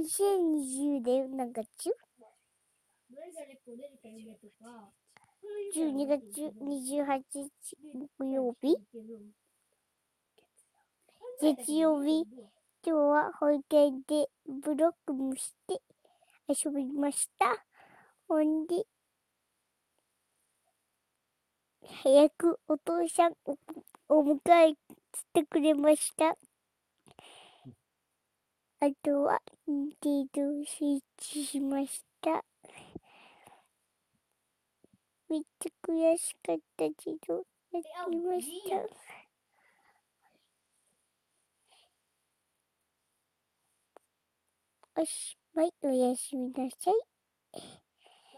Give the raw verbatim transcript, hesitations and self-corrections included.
にせんにじゅうねん何月？じゅうにがつにじゅうはちにち木曜日、月曜日。今日は保育園でブロックもして遊びました。ほんで早くお父さんをお迎えしてくれました。あとはニンテンドースイッチしました。めっちゃ悔しかったけどやりました。おしまい。おやすみなさい。